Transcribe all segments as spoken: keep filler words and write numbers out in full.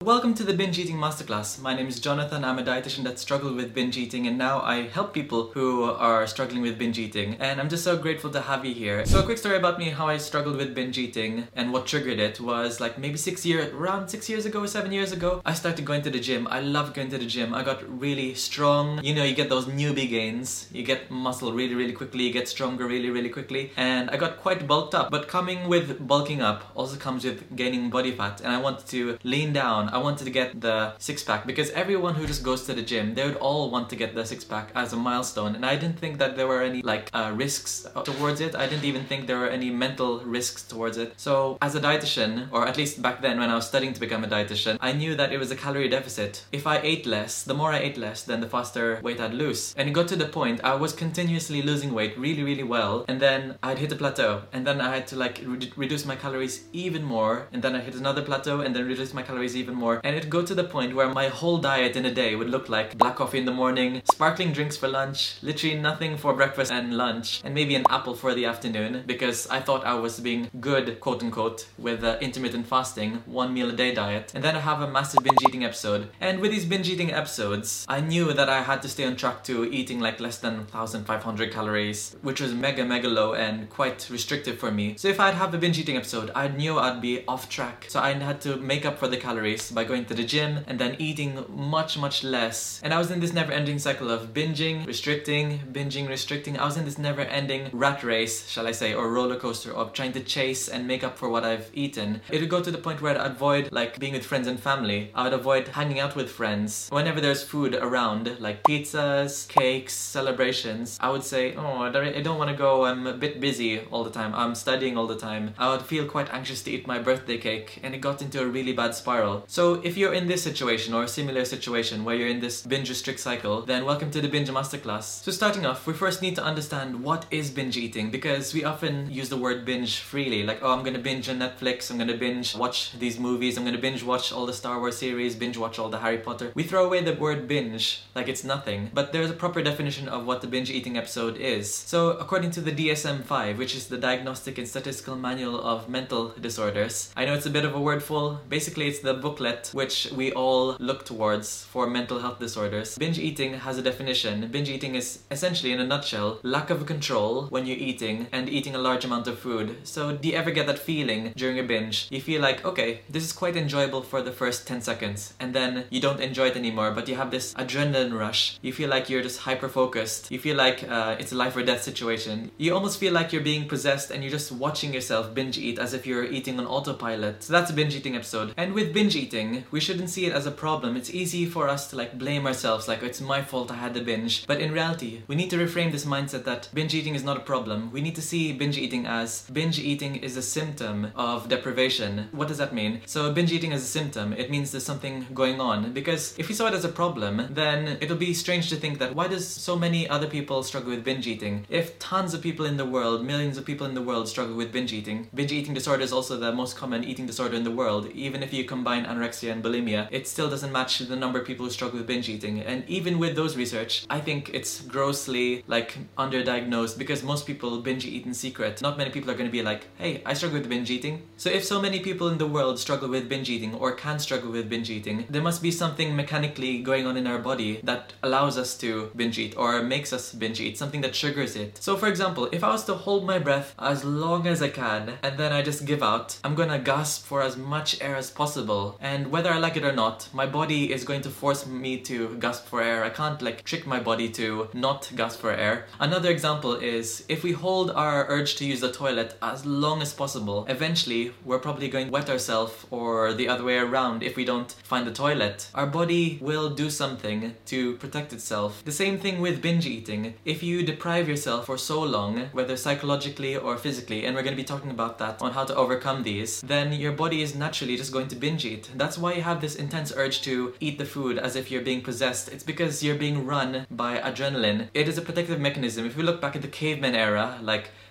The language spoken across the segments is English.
Welcome to the Binge Eating Masterclass. My name is Jonathan. I'm a dietitian that struggled with binge eating, and now I help people who are struggling with binge eating. And I'm just so grateful to have you here. So a quick story about me, how I struggled with binge eating and what triggered it was like maybe six years, around six years ago, seven years ago, I started going to the gym. I loved going to the gym. I got really strong. You know, you get those newbie gains. You get muscle really, really quickly. You get stronger really, really quickly. And I got quite bulked up. But coming with bulking up also comes with gaining body fat. And I wanted to lean down. I wanted to get the six pack because everyone who just goes to the gym, they would all want to get the six pack as a milestone. And I didn't think that there were any like uh, risks towards it. I didn't even think there were any mental risks towards it. So as a dietitian, or at least back then when I was studying to become a dietitian, I knew that it was a calorie deficit. If I ate less, the more I ate less, then the faster weight I'd lose. And it got to the point I was continuously losing weight really, really well. And then I'd hit a plateau. And then I had to like re reduce my calories even more. And then I hit another plateau and then reduce my calories even more. And it'd go to the point where my whole diet in a day would look like black coffee in the morning, sparkling drinks for lunch, literally nothing for breakfast and lunch, and maybe an apple for the afternoon, because I thought I was being good, quote unquote, with uh, intermittent fasting, one meal a day diet. And then I have a massive binge eating episode. And with these binge eating episodes, I knew that I had to stay on track to eating like less than one thousand five hundred calories, which was mega, mega low and quite restrictive for me. So if I'd have a binge eating episode, I knew I'd be off track. So I had to make up for the calories by going to the gym and then eating much, much less. And I was in this never-ending cycle of binging, restricting, binging, restricting. I was in this never-ending rat race, shall I say, or roller coaster of trying to chase and make up for what I've eaten. It would go to the point where I'd avoid like being with friends and family. I would avoid hanging out with friends. Whenever there's food around, like pizzas, cakes, celebrations, I would say, oh, I don't want to go. I'm a bit busy all the time. I'm studying all the time. I would feel quite anxious to eat my birthday cake, and it got into a really bad spiral. So if you're in this situation or a similar situation where you're in this binge restrict cycle, then welcome to the Binge Masterclass. So starting off, we first need to understand what is binge eating, because we often use the word binge freely, like, oh, I'm gonna binge on Netflix, I'm gonna binge watch these movies, I'm gonna binge watch all the Star Wars series, binge watch all the Harry Potter. We throw away the word binge like it's nothing, but there's a proper definition of what the binge eating episode is. So according to the D S M five, which is the Diagnostic and Statistical Manual of Mental Disorders, I know it's a bit of a wordful. Basically, it's the booklet which we all look towards for mental health disorders. Binge eating has a definition. Binge eating is essentially, in a nutshell, lack of control when you're eating and eating a large amount of food. So do you ever get that feeling during a binge? You feel like, okay, this is quite enjoyable for the first ten seconds, and then you don't enjoy it anymore, but you have this adrenaline rush. You feel like you're just hyper-focused. You feel like uh, it's a life or death situation. You almost feel like you're being possessed and you're just watching yourself binge eat as if you're eating on autopilot. So that's a binge eating episode. And with binge eating, we shouldn't see it as a problem. It's easy for us to like blame ourselves, like it's my fault I had the binge. But in reality, we need to reframe this mindset that binge eating is not a problem. We need to see binge eating as binge eating is a symptom of deprivation. What does that mean? So binge eating is a symptom. It means there's something going on. Because if we saw it as a problem, then it'll be strange to think that why does so many other people struggle with binge eating? If tons of people in the world, millions of people in the world struggle with binge eating, binge eating disorder is also the most common eating disorder in the world. Even if you combine anorexia and bulimia, it still doesn't match the number of people who struggle with binge eating. And even with those research, I think it's grossly like underdiagnosed, because most people binge eat in secret. Not many people are going to be like, hey, I struggle with binge eating. So if so many people in the world struggle with binge eating or can struggle with binge eating, there must be something mechanically going on in our body that allows us to binge eat or makes us binge eat, something that triggers it. So for example, if I was to hold my breath as long as I can and then I just give out, I'm gonna gasp for as much air as possible. And whether I like it or not, my body is going to force me to gasp for air. I can't like trick my body to not gasp for air. Another example is if we hold our urge to use the toilet as long as possible, eventually we're probably going to wet ourselves, or the other way around. If we don't find the toilet, our body will do something to protect itself. The same thing with binge eating. If you deprive yourself for so long, whether psychologically or physically, and we're going to be talking about that on how to overcome these, then your body is naturally just going to binge eat. That's why you have this intense urge to eat the food as if you're being possessed. It's because you're being run by adrenaline. It is a protective mechanism. If we look back at the caveman era, like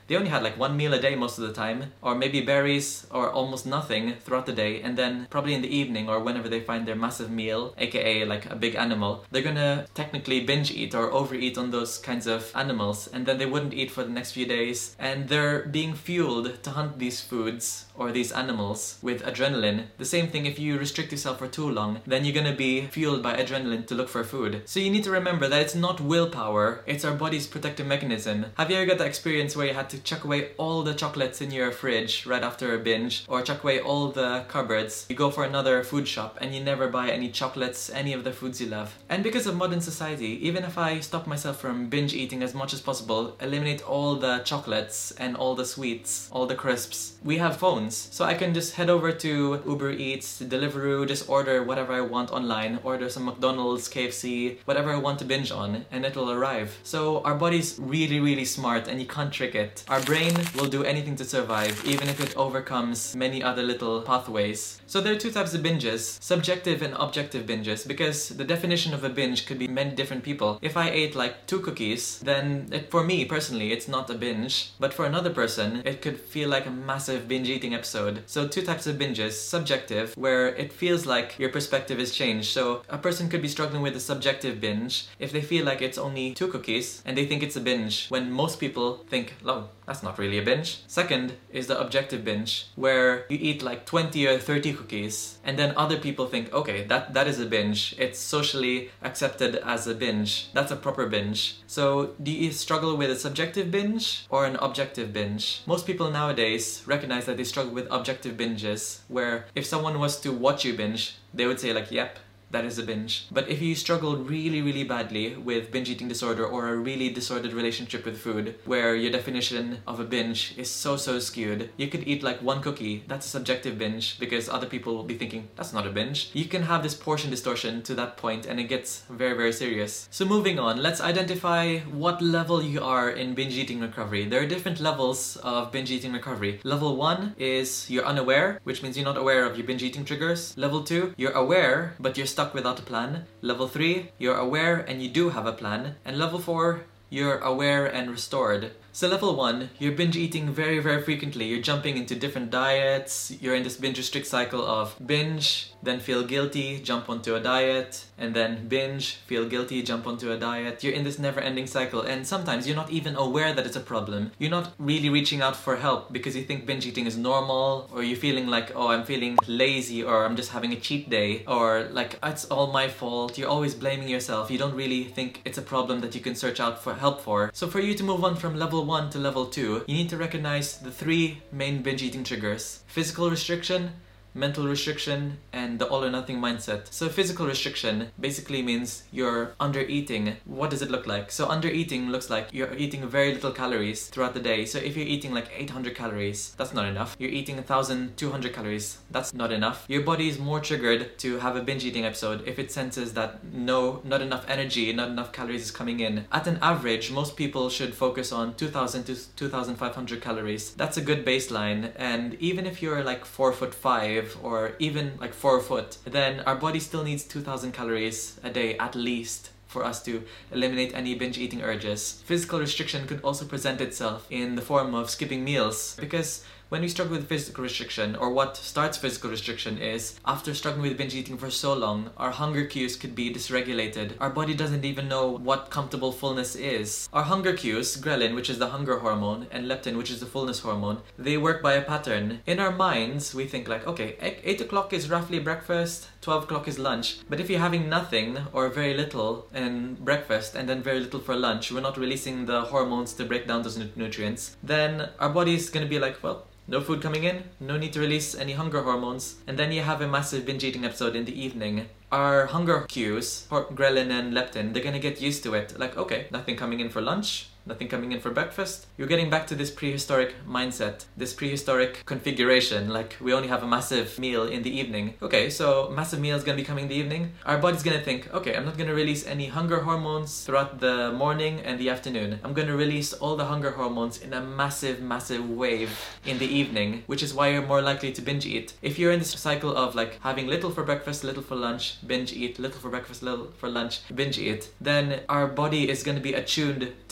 they only had like one meal a day most of the time, or maybe berries or almost nothing throughout the day, and then probably in the evening or whenever they find their massive meal, aka like a big animal, they're gonna technically binge eat or overeat on those kinds of animals, and then they wouldn't eat for the next few days, and they're being fueled to hunt these foods or these animals with adrenaline. The same thing, if you restrict yourself for too long, then you're gonna be fueled by adrenaline to look for food. So you need to remember that it's not willpower, it's our body's protective mechanism. Have you ever got that experience where you had to chuck away all the chocolates in your fridge right after a binge, or chuck away all the cupboards? You go for another food shop and you never buy any chocolates, any of the foods you love. And because of modern society, even if I stop myself from binge eating as much as possible, eliminate all the chocolates and all the sweets, all the crisps, we have phones. So I can just head over to Uber Eats, Deliveroo, just order whatever I want online, order some McDonald's, K F C, whatever I want to binge on, and it'll arrive. So our body's really, really smart and you can't trick it. Our brain will do anything to survive, even if it overcomes many other little pathways. So there are two types of binges, subjective and objective binges, because the definition of a binge could be many different people. If I ate like two cookies, then it, for me personally, it's not a binge, but for another person, it could feel like a massive binge eating episode. So two types of binges, subjective, where it feels like your perspective is changed. So a person could be struggling with a subjective binge if they feel like it's only two cookies and they think it's a binge, when most people think, oh, that's not really a binge. Second is the objective binge, where you eat like twenty or thirty cookies and then other people think, okay, that, that is a binge. It's socially accepted as a binge. That's a proper binge. So do you struggle with a subjective binge or an objective binge? Most people nowadays recognize that they struggle with objective binges, where if someone was to watch you binge, they would say like, yep, that is a binge. But if you struggle really, really badly with binge eating disorder or a really disordered relationship with food, where your definition of a binge is so, so skewed, you could eat like one cookie, that's a subjective binge, because other people will be thinking, that's not a binge. You can have this portion distortion to that point and it gets very, very serious. So moving on, let's identify what level you are in binge eating recovery. There are different levels of binge eating recovery. Level one is you're unaware, which means you're not aware of your binge eating triggers. Level two, you're aware, but you're stuck without a plan. Level three, you're aware and you do have a plan. And level four, you're aware and restored. So level one, you're binge eating very, very frequently. You're jumping into different diets. You're in this binge restrict cycle of binge, then feel guilty, jump onto a diet, and then binge, feel guilty, jump onto a diet. You're in this never-ending cycle, and sometimes you're not even aware that it's a problem. You're not really reaching out for help because you think binge eating is normal, or you're feeling like, oh, I'm feeling lazy, or I'm just having a cheat day, or like, it's all my fault. You're always blaming yourself. You don't really think it's a problem that you can search out for help for. So for you to move on from level one to level two, you need to recognize the three main binge eating triggers: physical restriction, mental restriction, and the all or nothing mindset. So physical restriction basically means you're under eating. What does it look like? So under eating looks like you're eating very little calories throughout the day. So if you're eating like eight hundred calories, that's not enough. You're eating one thousand two hundred calories, that's not enough. Your body is more triggered to have a binge eating episode if it senses that no, not enough energy, not enough calories is coming in. At an average, most people should focus on two thousand to two thousand five hundred calories. That's a good baseline. And even if you're like four foot five, or even like four foot, then our body still needs two thousand calories a day at least for us to eliminate any binge eating urges. Physical restriction could also present itself in the form of skipping meals, because when we struggle with physical restriction, or what starts physical restriction is, after struggling with binge eating for so long, our hunger cues could be dysregulated. Our body doesn't even know what comfortable fullness is. Our hunger cues, ghrelin, which is the hunger hormone, and leptin, which is the fullness hormone, they work by a pattern. In our minds, we think like, okay, eight o'clock is roughly breakfast, twelve o'clock is lunch. But if you're having nothing or very little in breakfast and then very little for lunch, we're not releasing the hormones to break down those nu- nutrients, then our body is going to be like, well, no food coming in, no need to release any hunger hormones, and then you have a massive binge eating episode in the evening. Our hunger cues, ghrelin and leptin, they're gonna get used to it. Like, okay, nothing coming in for lunch, nothing coming in for breakfast. You're getting back to this prehistoric mindset, this prehistoric configuration, like we only have a massive meal in the evening. Okay, so massive meal is gonna be coming in the evening. Our body's gonna think, okay, I'm not gonna release any hunger hormones throughout the morning and the afternoon. I'm gonna release all the hunger hormones in a massive, massive wave in the evening, which is why you're more likely to binge eat. If you're in this cycle of like having little for breakfast, little for lunch, binge eat, little for breakfast, little for lunch, binge eat, then our body is gonna be attuned to want to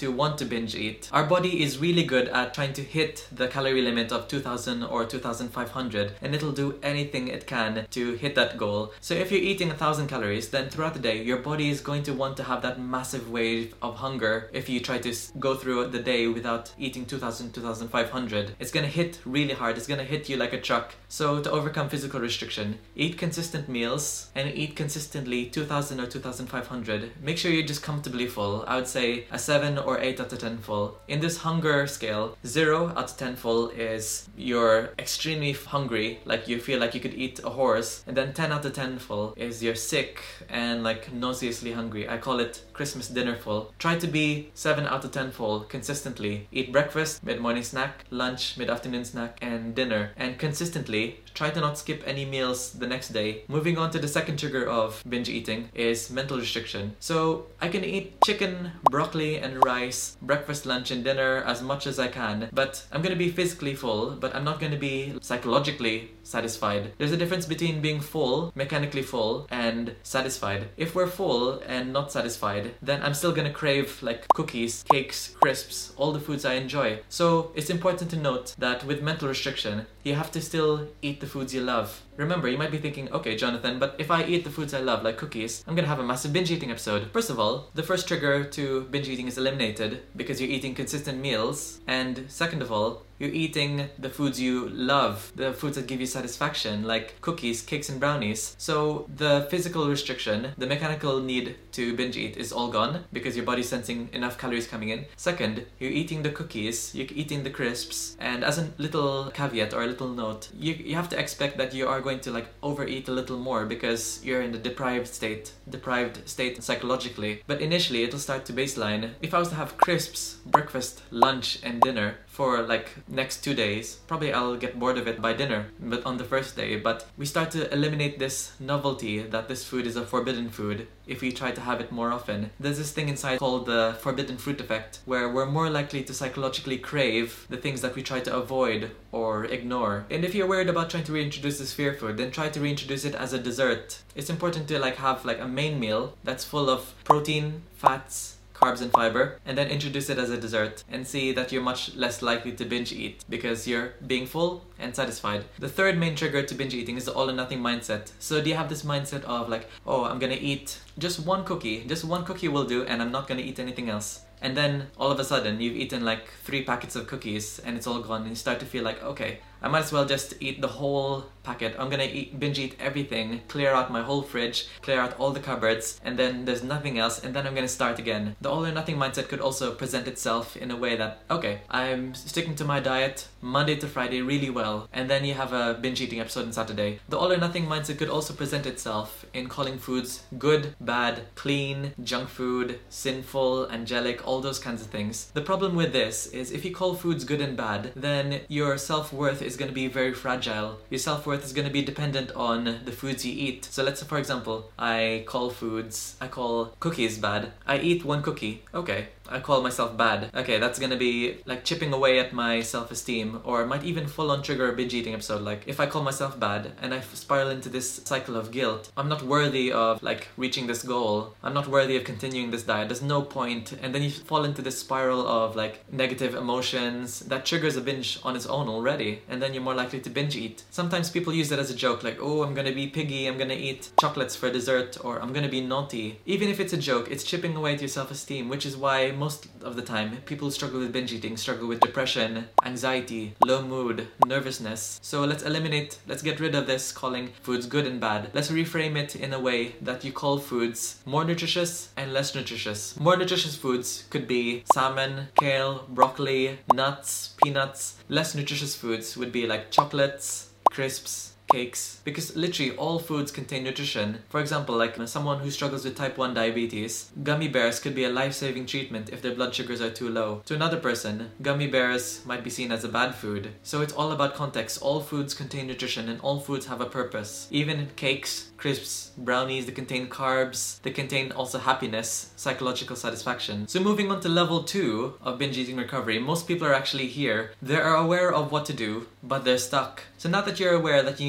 binge eat. Our body is really good at trying to hit the calorie limit of two thousand or two thousand five hundred, and it'll do anything it can to hit that goal. So if you're eating one thousand calories, then throughout the day your body is going to want to have that massive wave of hunger. If you try to go through the day without eating two thousand, two thousand five hundred, it's gonna hit really hard. It's gonna hit you like a truck. So to overcome physical restriction, eat consistent meals and eat consistently two thousand or two thousand five hundred. Make sure you're just comfortably full. I would say a seven or eight out of ten full. In this hunger scale, zero out of ten full is you're extremely hungry, like you feel like you could eat a horse, and then ten out of ten full is you're sick and like nauseously hungry. I call it Christmas dinner full. Try to be seven out of ten full consistently. Eat breakfast, mid-morning snack, lunch, mid-afternoon snack, and dinner. And consistently, try to not skip any meals the next day. Moving on to the second trigger of binge eating is mental restriction. So I can eat chicken, broccoli, and rice, breakfast, lunch, and dinner as much as I can, but I'm gonna be physically full, but I'm not gonna be psychologically satisfied. There's a difference between being full, mechanically full, and satisfied. If we're full and not satisfied, then I'm still gonna crave like cookies, cakes, crisps, all the foods I enjoy. So it's important to note that with mental restriction, you have to still eat the foods you love. Remember, you might be thinking, okay, Jonathan, but if I eat the foods I love, like cookies, I'm gonna have a massive binge eating episode. First of all, the first trigger to binge eating is eliminated because you're eating consistent meals. And second of all, you're eating the foods you love, the foods that give you satisfaction, like cookies, cakes, and brownies. So the physical restriction, the mechanical need to binge eat is all gone because your body's sensing enough calories coming in. Second, you're eating the cookies, you're eating the crisps, and as a little caveat or a little note, you, you have to expect that you are going to like overeat a little more because you're in the deprived state, deprived state psychologically. But initially, it'll start to baseline. If I was to have crisps, breakfast, lunch, and dinner for like next two days, probably I'll get bored of it by dinner, but on the first day. But we start to eliminate this novelty that this food is a forbidden food if we try to have it more often. There's this thing inside called the forbidden fruit effect, where we're more likely to psychologically crave the things that we try to avoid or ignore. And if you're worried about trying to reintroduce this fear food, then try to reintroduce it as a dessert. It's important to like have like a main meal that's full of protein, fats, carbs, and fiber, and then introduce it as a dessert and see that you're much less likely to binge eat because you're being full and satisfied. The third main trigger to binge eating is the all or nothing mindset. So do you have this mindset of like, oh, I'm gonna eat just one cookie, just one cookie will do, and I'm not gonna eat anything else. And then all of a sudden you've eaten like three packets of cookies and it's all gone, and you start to feel like, okay, I might as well just eat the whole packet. I'm gonna eat, binge eat everything, clear out my whole fridge, clear out all the cupboards, and then there's nothing else, and then I'm gonna start again. The all or nothing mindset could also present itself in a way that, okay, I'm sticking to my diet Monday to Friday really well, and then you have a binge eating episode on Saturday. The all or nothing mindset could also present itself in calling foods good, bad, clean, junk food, sinful, angelic, all those kinds of things. The problem with this is if you call foods good and bad, then your self-worth is going to be very fragile. Your self-worth is going to be dependent on the foods you eat. So let's say, for example, I call foods, I call cookies bad. I eat one cookie. Okay, I call myself bad. Okay, that's gonna be like chipping away at my self-esteem, or might even full on trigger a binge eating episode. Like if I call myself bad and I spiral into this cycle of guilt, I'm not worthy of like reaching this goal, I'm not worthy of continuing this diet, there's no point, and then you fall into this spiral of like negative emotions that triggers a binge on its own already, and then you're more likely to binge eat. Sometimes people use it as a joke, like, oh, I'm gonna be piggy, I'm gonna eat chocolates for dessert, or I'm gonna be naughty. Even if it's a joke, it's chipping away at your self-esteem, which is why most of the time people who struggle with binge eating struggle with depression, anxiety, low mood, nervousness. So let's eliminate, let's get rid of this calling foods good and bad. Let's reframe it in a way that you call foods more nutritious and less nutritious. More nutritious foods could be salmon, kale, broccoli, nuts, peanuts. Less nutritious foods would be like chocolates, crisps, cakes, because literally all foods contain nutrition. For example, like someone who struggles with type one diabetes, gummy bears could be a life-saving treatment if their blood sugars are too low. To another person, gummy bears might be seen as a bad food. So it's all about context. All foods contain nutrition and all foods have a purpose. Even cakes, crisps, brownies, they contain carbs, they contain also happiness, psychological satisfaction. So moving on to level two of binge eating recovery, most people are actually here. They are aware of what to do, but they're stuck. So now that you're aware that you need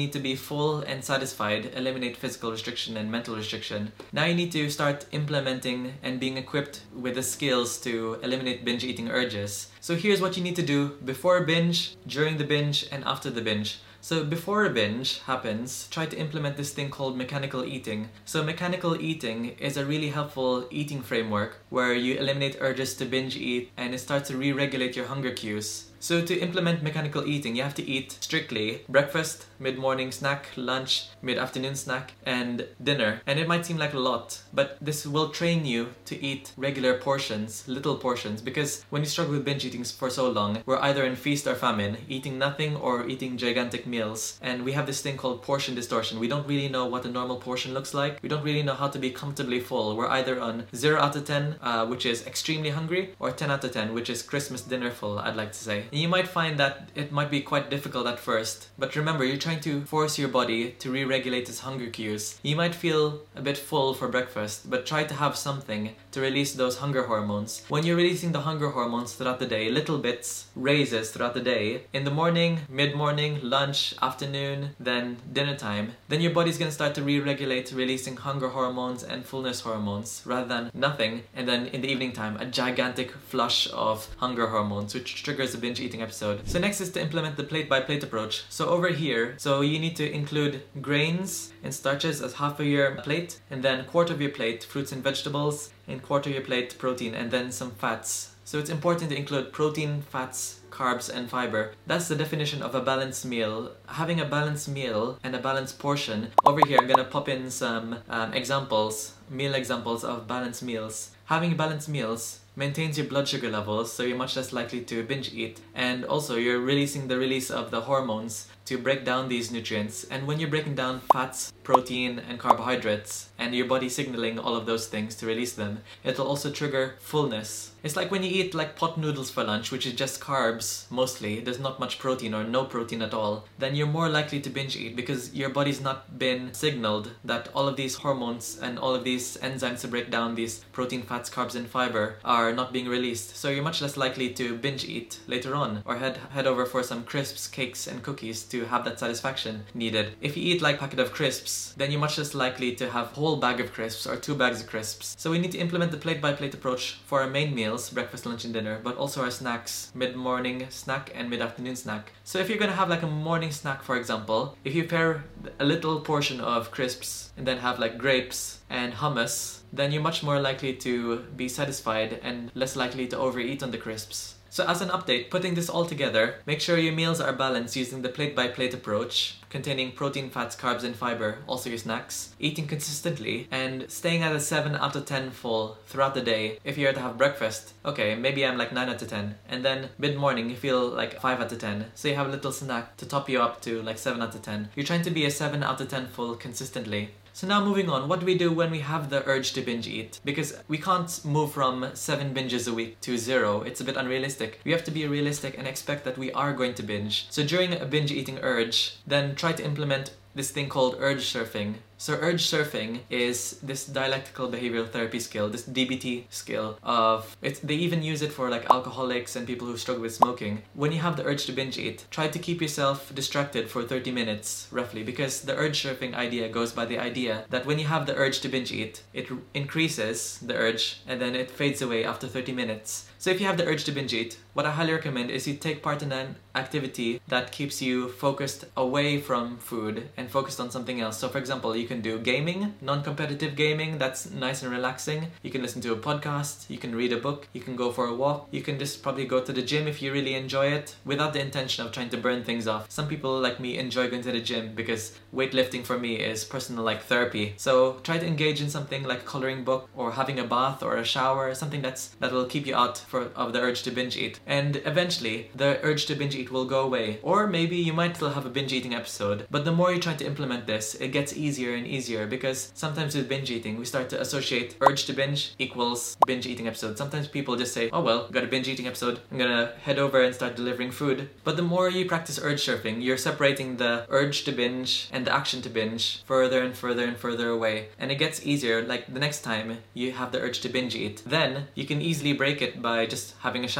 need to be full and satisfied, eliminate physical restriction and mental restriction. Now you need to start implementing and being equipped with the skills to eliminate binge eating urges. So here's what you need to do before a binge, during the binge, and after the binge. So before a binge happens, try to implement this thing called mechanical eating. So mechanical eating is a really helpful eating framework where you eliminate urges to binge eat and it starts to re-regulate your hunger cues. So to implement mechanical eating, you have to eat strictly breakfast, mid-morning snack, lunch, mid-afternoon snack, and dinner. And it might seem like a lot, but this will train you to eat regular portions, little portions, because when you struggle with binge eating for so long, we're either in feast or famine, eating nothing or eating gigantic meals. And we have this thing called portion distortion. We don't really know what a normal portion looks like. We don't really know how to be comfortably full. We're either on zero out of ten, uh, which is extremely hungry, or ten out of ten, which is Christmas dinner full, I'd like to say. You might find that it might be quite difficult at first, but remember, you're trying to force your body to re-regulate its hunger cues. You might feel a bit full for breakfast, but try to have something to release those hunger hormones. When you're releasing the hunger hormones throughout the day, little bits, raises throughout the day, in the morning, mid-morning, lunch, afternoon, then dinner time, then your body's gonna start to re-regulate, releasing hunger hormones and fullness hormones, rather than nothing, and then in the evening time, a gigantic flush of hunger hormones, which triggers a binge eating episode. So next is to implement the plate by plate approach. So over here, so you need to include grains and starches as half of your plate, and then quarter of your plate fruits and vegetables, and quarter of your plate protein, and then some fats. So it's important to include protein, fats, carbs, and fiber. That's the definition of a balanced meal. Having a balanced meal and a balanced portion. Over here, I'm gonna pop in some um, examples, meal examples of balanced meals. Having balanced meals maintains your blood sugar levels, so you're much less likely to binge eat. And also, you're releasing the release of the hormones to break down these nutrients. And when you're breaking down fats, protein, and carbohydrates, and your body signaling all of those things to release them, it'll also trigger fullness. It's like when you eat like pot noodles for lunch, which is just carbs mostly, there's not much protein or no protein at all, then you're more likely to binge eat because your body's not been signaled that all of these hormones and all of these enzymes to break down these protein, fats, carbs, and fiber are not being released. So you're much less likely to binge eat later on, or head head over for some crisps, cakes, and cookies to have that satisfaction needed. If you eat like a packet of crisps, then you're much less likely to have a whole bag of crisps or two bags of crisps. So we need to implement the plate by plate approach for our main meals, breakfast, lunch, and dinner, but also our snacks, mid-morning snack and mid-afternoon snack. So if you're gonna have like a morning snack, for example, if you pair a little portion of crisps and then have like grapes and hummus, then you're much more likely to be satisfied and less likely to overeat on the crisps. So as an update, putting this all together, make sure your meals are balanced using the plate by plate approach, containing protein, fats, carbs, and fiber, also your snacks, eating consistently, and staying at a seven out of ten full throughout the day. If you're to have breakfast, okay, maybe I'm like nine out of ten, and then mid-morning you feel like five out of ten, so you have a little snack to top you up to like seven out of ten. You're trying to be a seven out of ten full consistently. So now moving on, what do we do when we have the urge to binge eat? Because we can't move from seven binges a week to zero. It's a bit unrealistic. We have to be realistic and expect that we are going to binge. So during a binge eating urge, then try to implement this thing called urge surfing. So urge surfing is this dialectical behavioral therapy skill, this D B T skill of, it's, they even use it for like alcoholics and people who struggle with smoking. When you have the urge to binge eat, try to keep yourself distracted for thirty minutes roughly, because the urge surfing idea goes by the idea that when you have the urge to binge eat, it increases the urge and then it fades away after thirty minutes. So if you have the urge to binge eat, what I highly recommend is you take part in an activity that keeps you focused away from food and focused on something else. So for example, you can do gaming, non-competitive gaming, that's nice and relaxing. You can listen to a podcast, you can read a book, you can go for a walk, you can just probably go to the gym if you really enjoy it, without the intention of trying to burn things off. Some people like me enjoy going to the gym because weightlifting for me is personal like therapy. So try to engage in something like a coloring book or having a bath or a shower, something that's that will keep you out for, of the urge to binge eat. And eventually, the urge to binge eat will go away. Or maybe you might still have a binge eating episode, but the more you try to implement this, it gets easier and easier, because sometimes with binge eating, we start to associate urge to binge equals binge eating episode. Sometimes people just say, oh well, got a binge eating episode, I'm gonna head over and start delivering food. But the more you practice urge surfing, you're separating the urge to binge and the action to binge further and further and further away. And it gets easier, like the next time you have the urge to binge eat, then you can easily break it by just having a shower,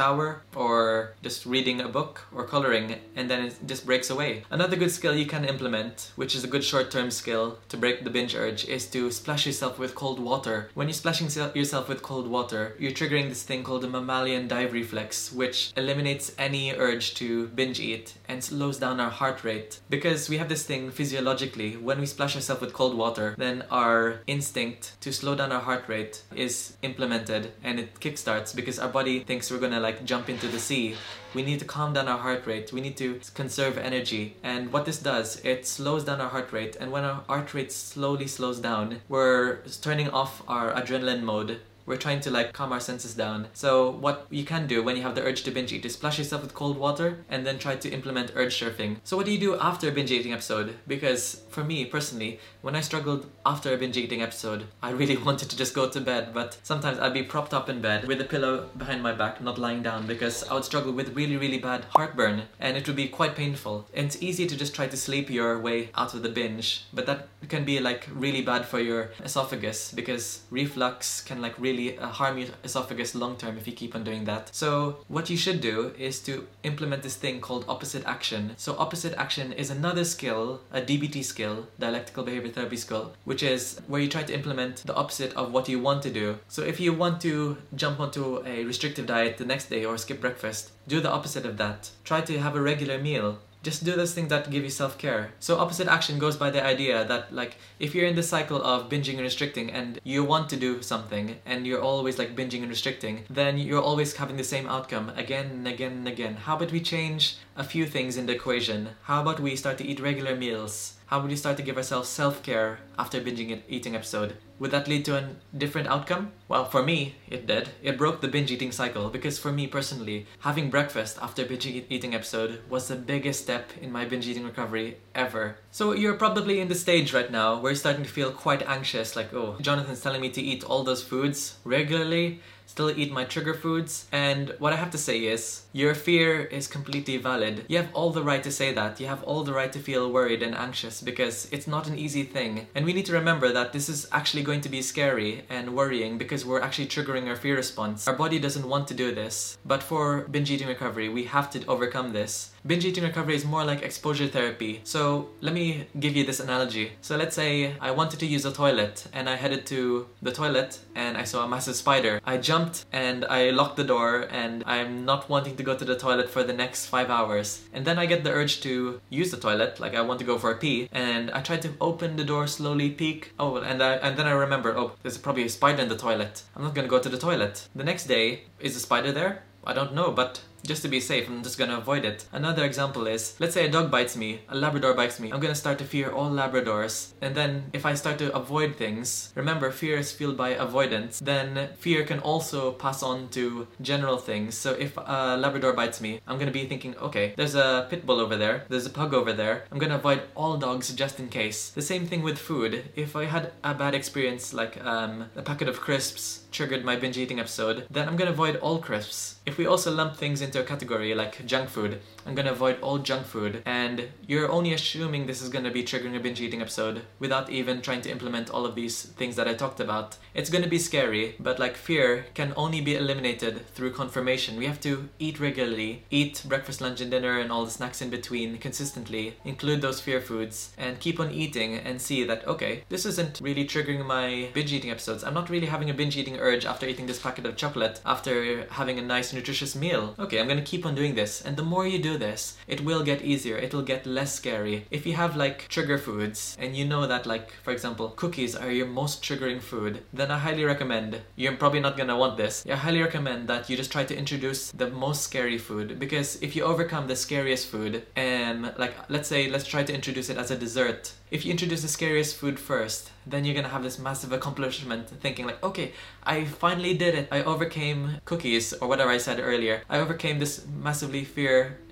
or just reading a book or coloring, and then it just breaks away. Another good skill you can implement, which is a good short-term skill to break the binge urge, is to splash yourself with cold water. When you're splashing yourself with cold water, you're triggering this thing called the mammalian dive reflex, which eliminates any urge to binge eat and slows down our heart rate. Because we have this thing physiologically, when we splash ourselves with cold water, then our instinct to slow down our heart rate is implemented and it kickstarts because our body thinks we're gonna like jump into the sea. We need to calm down our heart rate, we need to conserve energy, and what this does, it slows down our heart rate, and when our heart rate slowly slows down, we're turning off our adrenaline mode. We're trying to like calm our senses down. So what you can do when you have the urge to binge eat is splash yourself with cold water and then try to implement urge surfing. So what do you do after a binge eating episode? Because for me personally, when I struggled after a binge eating episode, I really wanted to just go to bed, but sometimes I'd be propped up in bed with a pillow behind my back, not lying down, because I would struggle with really really bad heartburn and it would be quite painful. And it's easy to just try to sleep your way out of the binge, but that can be like really bad for your esophagus because reflux can like really Uh, harm your esophagus long term if you keep on doing that. So what you should do is to implement this thing called opposite action. So opposite action is another skill, a D B T skill, dialectical behavior therapy skill, which is where you try to implement the opposite of what you want to do. So if you want to jump onto a restrictive diet the next day or skip breakfast, do the opposite of that. Try to have a regular meal. Just do those things that give you self-care. So opposite action goes by the idea that like if you're in the cycle of binging and restricting and you want to do something and you're always like binging and restricting, then you're always having the same outcome again and again and again. How about we change a few things in the equation? How about we start to eat regular meals? How would we start to give ourselves self-care after binging and eating episode? Would that lead to a different outcome? Well, for me, it did. It broke the binge eating cycle because for me personally, having breakfast after binge eating episode was the biggest step in my binge eating recovery ever. So you're probably in the stage right now where you're starting to feel quite anxious, like, oh, Jonathan's telling me to eat all those foods regularly, still eat my trigger foods, and what I have to say is, your fear is completely valid. You have all the right to say that. You have all the right to feel worried and anxious because it's not an easy thing. And we need to remember that this is actually going to be scary and worrying because we're actually triggering our fear response. Our body doesn't want to do this, but for binge eating recovery, we have to overcome this. Binge eating recovery is more like exposure therapy. So let me give you this analogy. So let's say I wanted to use a toilet and I headed to the toilet and I saw a massive spider. I jumped and I locked the door and I'm not wanting to go to the toilet for the next five hours. And then I get the urge to use the toilet, like I want to go for a pee, and I try to open the door slowly, peek. Oh, and, I, and then I remember, oh, there's probably a spider in the toilet. I'm not gonna go to the toilet. The next day, is the spider there? I don't know, but just to be safe, I'm just gonna avoid it. Another example is, let's say a dog bites me, a Labrador bites me. I'm gonna start to fear all Labradors. And then if I start to avoid things, remember fear is fueled by avoidance, then fear can also pass on to general things. So if a Labrador bites me, I'm gonna be thinking, okay, there's a pit bull over there, there's a pug over there. I'm gonna avoid all dogs just in case. The same thing with food. If I had a bad experience, like um, a packet of crisps triggered my binge eating episode, then I'm gonna avoid all crisps. If we also lump things into a category like junk food, I'm gonna avoid all junk food, and you're only assuming this is gonna be triggering a binge eating episode without even trying to implement all of these things that I talked about. It's gonna be scary, but like fear can only be eliminated through confirmation. We have to eat regularly, eat breakfast, lunch and dinner and all the snacks in between consistently, include those fear foods, and keep on eating and see that, okay, this isn't really triggering my binge eating episodes. I'm not really having a binge eating urge after eating this packet of chocolate, after having a nice nutritious meal. Okay, I'm gonna keep on doing this, and the more you do this, it will get easier, it will get less scary. If you have like trigger foods, and you know that like, for example, cookies are your most triggering food, then I highly recommend, you're probably not gonna want this, I highly recommend that you just try to introduce the most scary food, because if you overcome the scariest food, and like, let's say, let's try to introduce it as a dessert. If you introduce the scariest food first, then you're gonna have this massive accomplishment, thinking like, okay, I finally did it. I overcame cookies, or whatever I said earlier. I overcame this massively fear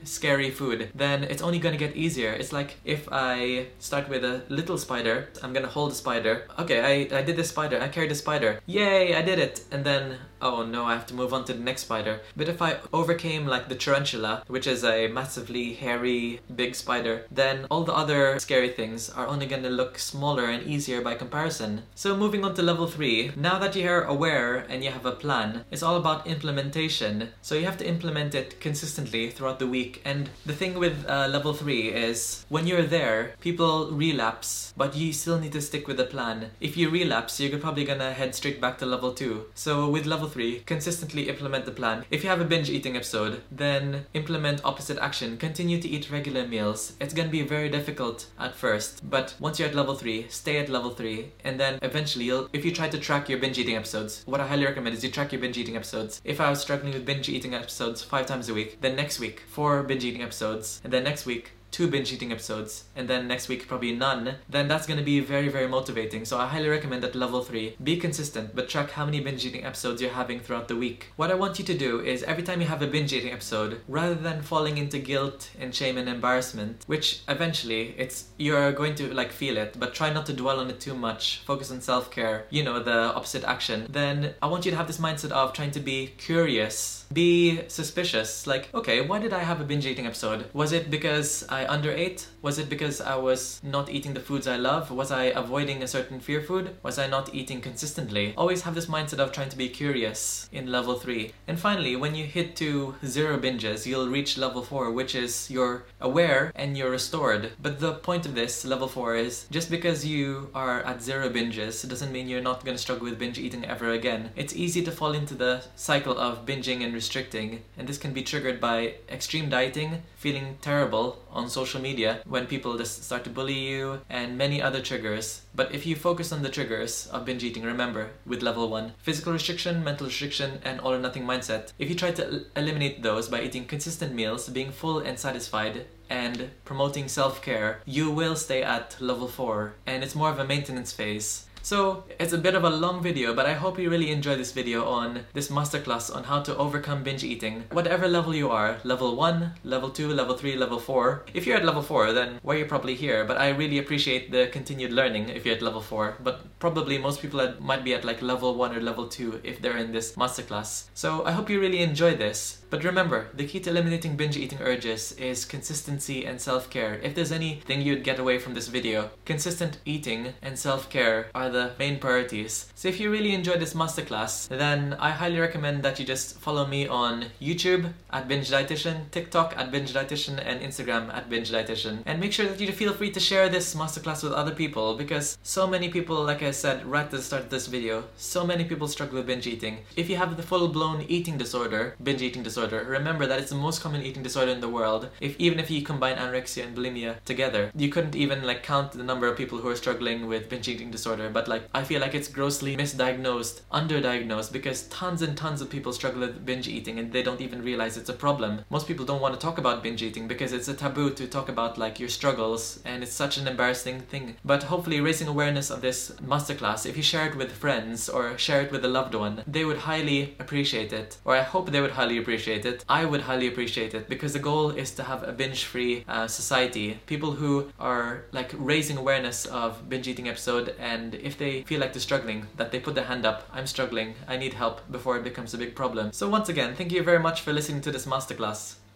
scary food, then it's only gonna get easier. It's like if I start with a little spider, I'm gonna hold the spider. Okay, I, I did the spider, I carried the spider. Yay, I did it! And then, oh no, I have to move on to the next spider. But if I overcame like the tarantula, which is a massively hairy, big spider, then all the other scary things are only gonna look smaller and easier by comparison. So moving on to level three, now that you're aware and you have a plan, it's all about implementation. So you have to implement it consistently throughout the week. And the thing with uh, level three is when you're there, people relapse, but you still need to stick with the plan. If you relapse, you're probably gonna head straight back to level two. So with level three, consistently implement the plan. If you have a binge eating episode, then implement opposite action. Continue to eat regular meals. It's gonna be very difficult at first, but once you're at level three, stay at level three, and then eventually you'll, if you try to track your binge eating episodes, what I highly recommend is you track your binge eating episodes. If I was struggling with binge eating episodes five times a week, then next week four binge eating episodes, and then next week two binge eating episodes, and then next week probably none, then that's going to be very, very motivating. So I highly recommend at level three, be consistent, but track how many binge eating episodes you're having throughout the week. What I want you to do is every time you have a binge eating episode, rather than falling into guilt and shame and embarrassment, which eventually it's you're going to like feel it, but try not to dwell on it too much, focus on self-care, you know, the opposite action, then I want you to have this mindset of trying to be curious, be suspicious, like, okay, why did I have a binge eating episode? Was it because I underate? Was it because I was not eating the foods I love? Was I avoiding a certain fear food? Was I not eating consistently? Always have this mindset of trying to be curious in level three. And finally, when you hit to zero binges, you'll reach level four, which is you're aware and you're restored. But the point of this, level four, is just because you are at zero binges doesn't mean you're not going to struggle with binge eating ever again. It's easy to fall into the cycle of binging and restricting, and this can be triggered by extreme dieting, feeling terrible on social media when people just start to bully you, and many other triggers. But if you focus on the triggers of binge eating, remember, with level one, physical restriction, mental restriction, and all or nothing mindset, if you try to el- eliminate those by eating consistent meals, being full and satisfied, and promoting self-care, you will stay at level four, and it's more of a maintenance phase. So it's a bit of a long video, but I hope you really enjoy this video on this masterclass on how to overcome binge eating. Whatever level you are, level one, level two, level three, level four. If you're at level four, then well, you're probably here, but I really appreciate the continued learning if you're at level four. But probably most people at, might be at like level one or level two if they're in this masterclass. So I hope you really enjoy this. But remember, the key to eliminating binge eating urges is consistency and self-care. If there's anything you'd get away from this video, consistent eating and self-care are the main priorities. So if you really enjoyed this masterclass, then I highly recommend that you just follow me on YouTube at Binge Dietitian, TikTok at Binge Dietitian, and Instagram at Binge Dietitian. And make sure that you feel free to share this masterclass with other people, because so many people, like I said right at the start of this video, so many people struggle with binge eating. If you have the full-blown eating disorder, binge eating disorder, remember that it's the most common eating disorder in the world. If even if you combine anorexia and bulimia together, you couldn't even like count the number of people who are struggling with binge eating disorder. But like, I feel like it's grossly misdiagnosed, underdiagnosed, because tons and tons of people struggle with binge eating and they don't even realize it's a problem. Most people don't want to talk about binge eating because it's a taboo to talk about like your struggles, and it's such an embarrassing thing. But hopefully raising awareness of this masterclass, if you share it with friends or share it with a loved one, they would highly appreciate it, or I hope they would highly appreciate it. I would highly appreciate it, because the goal is to have a binge-free uh, society. People who are like raising awareness of binge eating episode, and if they feel like they're struggling, that they put their hand up, I'm struggling, I need help, before it becomes a big problem. So once again, thank you very much for listening to this masterclass.